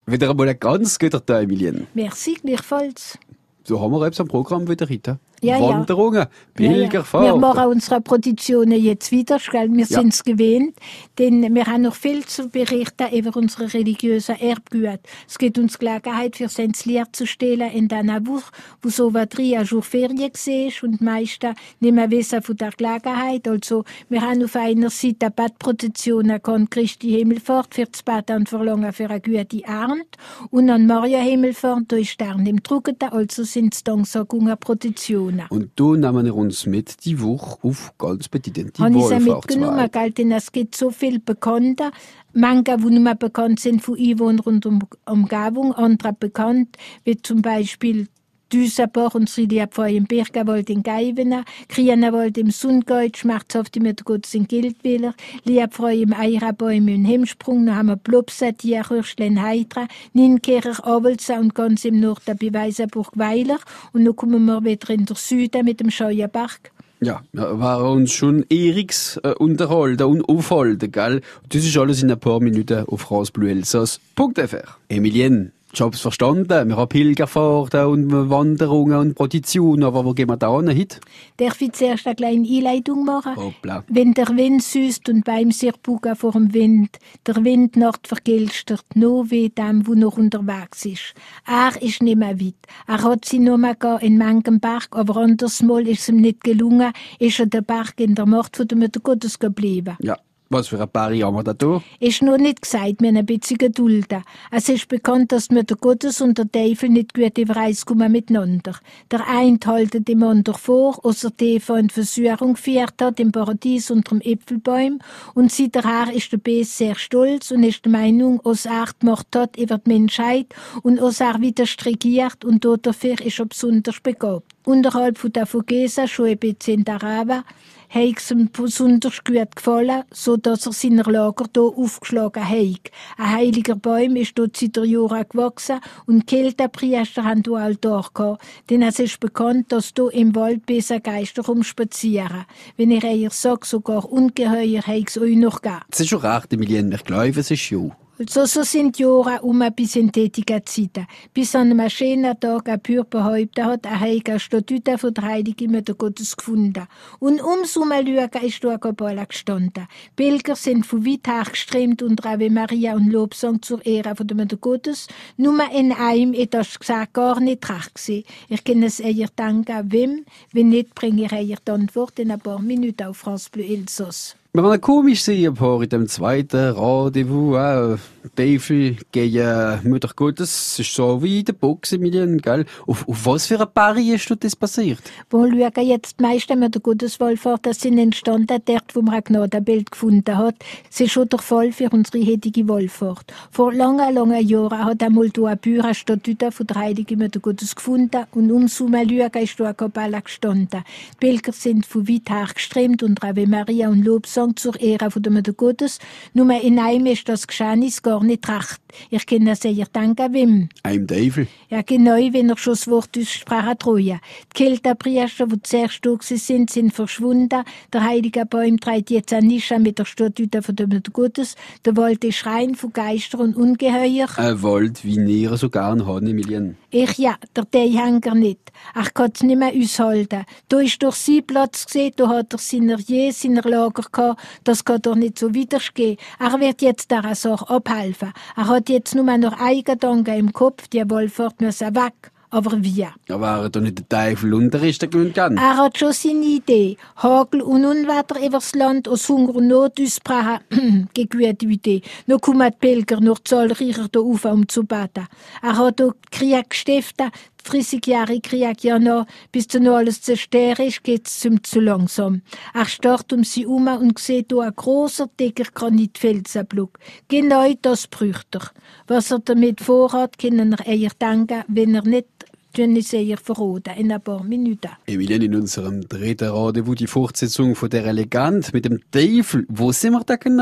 Wieder einmal ein ganz guter Tag, Emilien. Merci, gleichfalls. So haben wir jetzt am Programm wieder heute. Ja, Wanderungen, Pilgerfahrt. Wir machen unsere Produktionen jetzt wieder, gell? Wir sind es gewöhnt, denn wir haben noch viel zu berichten über unsere religiösen Erbgüter. Es gibt uns Gelegenheit, für uns Lied zu stellen in dieser Woche, wo so was 3 Jahre Ferien war und die meisten nicht mehr wissen von der Gelegenheit. Also, wir haben auf einer Seite eine Badprozession an Christi Himmelfahrt für das Bad und Verlangen für eine gute Ernte und an Maria Himmelfahrt, da ist Stern im Drucketen, also sind es Danksagung-Prozessionen. Und da nehmen wir uns mit die Woche auf ganz bedeutende Habe ich sie Wallfahrtswege. mitgenommen, gell? Denn es gibt so viele Bekannte. Manche, die nicht mehr bekannt sind von Einwohnern und Umgebung, andere bekannt, wie zum Beispiel Düsenbach, unsere Liebfrau im Birkenwald in Geiwena, Krienewald im Sundgäut, schmerzhaft im Gottes in Gildwiller, Liebfrau im Eirabäum in Hemsprung, dann haben wir Plopsa, Tierhürschle in Heidra, Nienkercher, Avelsa und ganz im Norden bei Weisenburg-Weiler. Und dann kommen wir wieder in den Süden mit dem Scheuenberg. Ja, wir waren uns schon Eriks unterhalten und aufhalten, gell? Das ist alles in ein paar Minuten auf rasbluelsass.fr. Emilien, ich hab's verstanden. Wir haben Pilgerfahrten und Wanderungen und Prozessionen, aber wo gehen wir da hin heute? Darf ich zuerst eine kleine Einleitung machen? Hoppla. Wenn der Wind süßt und beim sich bugen vor dem Wind, der Wind nacht vergilstert, nur wie dem, wo noch unterwegs ist. Er ist nicht mehr weit. Er hat sie nur mal in manchem Berg, aber andersmal ist es ihm nicht gelungen, ist er der Berg in der Macht von der Mutter Gottes geblieben. Ja, was für ein paar Jahre haben wir da tun? Ist noch nicht gesagt, wir haben ein bisschen gedulden. Es ist bekannt, dass die Mutter Gottes und der Teufel nicht gut übereinkommen miteinander. Der eine haltet dem anderen vor, außer Eva in Versuchung geführt hat, im Paradies unter dem Äpfelbaum. Und seither ist der Bes sehr stolz und ist der Meinung, dass er die Macht hat über die Menschheit und dass er wieder regiert und dafür ist er besonders begabt. Unterhalb von der Vogesa, schon ein bisschen in der Araber, hat es ihm besonders gut gefallen, so dass er seiner Lager hier aufgeschlagen hat. Ein heiliger Baum ist dort seit der Jahren gewachsen und Keltenpriester haben hier Altar gehabt. Denn es ist bekannt, dass hier im Wald böse Geister rumspazieren. Wenn ich eher sage, sogar Ungeheuer hat es euch noch gegeben. Das ist schon recht, Emilien. Ich glaube, es ist ja. So sind die Jahre bis in tätige Zeiten. Bis an einem schönen Tag ein Bürger behauptet hat, er habe eine Statue von der Heiligen Mutter Gottes gefunden. Und ums Herumschauen ist da ein Kabala gestanden. Pilger sind von weit her geströmt unter Ave Maria und Lobsang zur Ehre von der Mutter Gottes. Nur in einem ist das gesagt gar nicht recht gewesen. Ich kann es eher danken, wem. Wenn nicht, bringe ich eher die Antwort in ein paar Minuten auf France Bleu Elsass. Wir waren komisch sehen, paar in dem zweiten Rendezvous, Teufel gegen Mutter Gottes. Es ist so wie in der Box, Emilien, gell? Auf was für ein Pari ist das passiert? Wo schauen jetzt die meisten Mutter Gottes Wallfahrt, das sind entstanden, dort, wo man ein Gnadenbild gefunden hat. Es ist schon der Fall für unsere heutige Wallfahrt. Vor langen, langen Jahren hat einmal hier ein Bauer eine Statue von der Heiligen Mutter Gottes gefunden und ums Herumschauen ist hier eine Kapelle gestanden. Die Pilger sind von weit her geströmt unter Ave Maria und Lobsang zur Ehre von der Mutter Gottes. Nur in einem ist das Geschehnis gar nicht recht. Ich kann es eher danken, wem? Einem Teufel. Ja, genau, wenn er schon das Wort aussprachen treue. Die Keltenpriester, die zuerst da sind verschwunden. Der heilige Baum trägt jetzt eine Nische mit der Statue von der Mutter Gottes. Der Wald ist rein von Geistern und Ungeheuer. Ein Wald, wie ihr so gern haben, Emilien. Ja, der Teehänger nicht. Er kann es nicht mehr aushalten. Da ist durch sein Platz gesehen, da hat er seiner Lager gehabt. Das kann doch nicht so weitergehen. Er wird jetzt dieser Sache abhelfen. Er hat jetzt nur noch einen Gedanken im Kopf, die Wallfahrt muss weg. Aber wie? Ja, wäre doch nicht der Teufel unter ist, der gewinnt gern. Er hat schon seine Idee. Hagel und Unwetter übers Land, aus Hunger und Not ausbrechen. Gute Idee. Noch kommen die Pilger noch zahlreicher da auf, um zu beten. Er hat auch Krieg gestiftet. 30 Jahre Krieg ja noch, bis dann noch alles zerstört ist, geht's ihm zu langsam. Er starrt um sie herum und sieht hier ein grosser, dicker Granitfelsenblock. Genau das bräuchte er. Was er damit vorhat, können er eher denken, wenn er nicht, tun es eher verraten, in ein paar Minuten. Emilien, in unserem dritten Rendezvous die Fortsetzung von der Legende mit dem Teufel. Wo sind wir da genau?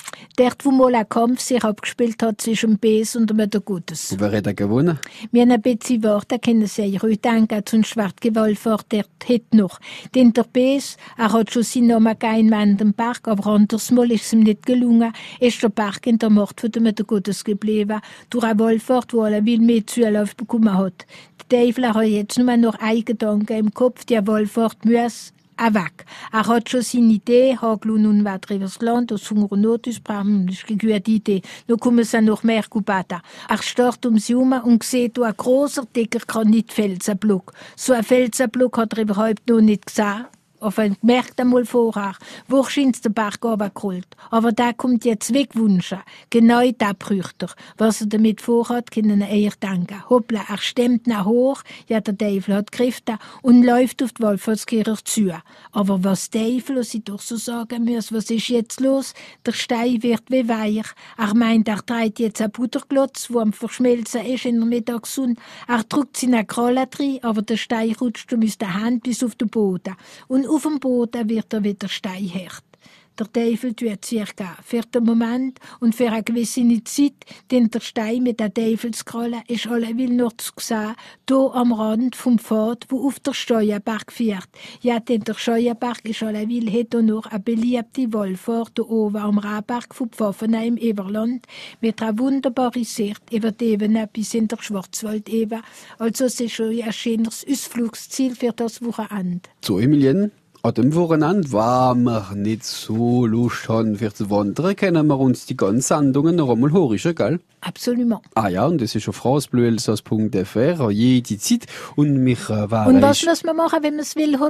Dort, wo mal ein Kampf sich abgespielt hat zwischen dem Bes und dem Gutes. Und wer hat gewonnen? Wir haben ein bisschen Worte, können Sie sich ruhig denken, zum Schwartgewalfahrt, der hat noch. Denn der Bes, hat schon seinen Namen gegeben an dem Berg, aber anders mal ist es ihm nicht gelungen, ist der Berg in der Macht von dem Gutes geblieben, durch eine Wallfahrt, wo er viel mehr Zulauf bekommen hat. Der Teufel hat jetzt nur noch einen Gedanken im Kopf, die Wallfahrt muss weg. Er hat schon seine Idee, Hagel und nun weiter übers Land, aus Hunger und Not ausbrechen, das ist eine gute Idee. Nun kommen sie noch mehr Kubata. Er starrt um sie herum und sieht ein grosser, dicker Granitfelsenblock. So ein Felsenblock hat er überhaupt noch nicht gesehen. Aber gemerkt einmal vorher, wahrscheinlich der Berg runtergerollt. Aber der kommt jetzt wegwünschen. Genau das braucht er. Was er damit vorhat, können er eher denken. Hoppla, er stemmt nach hoch, ja, der Teufel hat Kräfte und läuft auf die Wallfahrtskirche zu. Aber was Teufel, was ich doch so sagen muss, was ist jetzt los? Der Stein wird wie weich. Er meint, er trägt jetzt einen Butterklotz, der am Verschmelzen ist in der Mittagssonne. Er drückt seine Kralle rein, aber der Stein rutscht aus der Hand bis auf den Boden. Und auf dem Boden wird er wieder steinhart. Der Teufel tut circa für den Moment und für eine gewisse Zeit, denn der Stein mit der Teufelskralle ist alleweil noch zu sehen, hier am Rand vom Pfad, wo auf der Steuerberg führt. Ja, denn der Steuerberg ist alleweil heute noch eine beliebte Wallfahrt hier oben am Rehberg von Pfaffenheim im Everland mit einer wunderbaren Sicht über die Ebene bis in der Schwarzwald-Ebene. Also es ist schon ein schönes Ausflugsziel für das Wochenende. So, Emilien, an dem Wochenende, wenn wir nicht so Lust haben, für zu wandern, können wir uns die ganzen Sendungen noch einmal hören, gell? Absolut. Ah ja, und das ist auf francebleuelsass.fr an jede Zeit. Und mich Und was muss man machen, wenn man es will?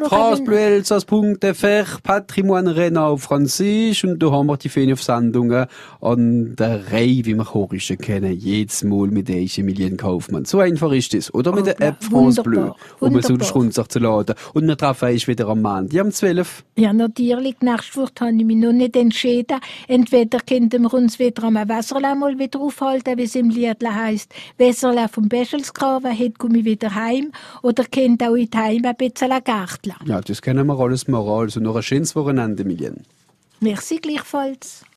francebleuelsass.fr, Patrimoine Rennes auf Französisch. Und da haben wir die Fähne auf Sendungen an der Reihe, wie wir Horischen kennen. Jedes Mal mit der Emilien Kaufmann. So einfach ist das. Oder mit der App France Bleu, um es runterzuladen. Und wir treffen uns wieder am Montag um 12. Ja, natürlich. Nächste Woche habe ich mich noch nicht entschieden. Entweder könnten wir uns wieder am Wässerle mal wieder aufhalten, wie es im Liedle heisst. Wässerle vom Beschelsgraben, heute komme ich wieder heim. Oder könnt auch in Heim ein bisschen Gärtchen. Ja, das können wir alles machen. Also noch ein schönes Wochenende, Emilien. Merci gleichfalls.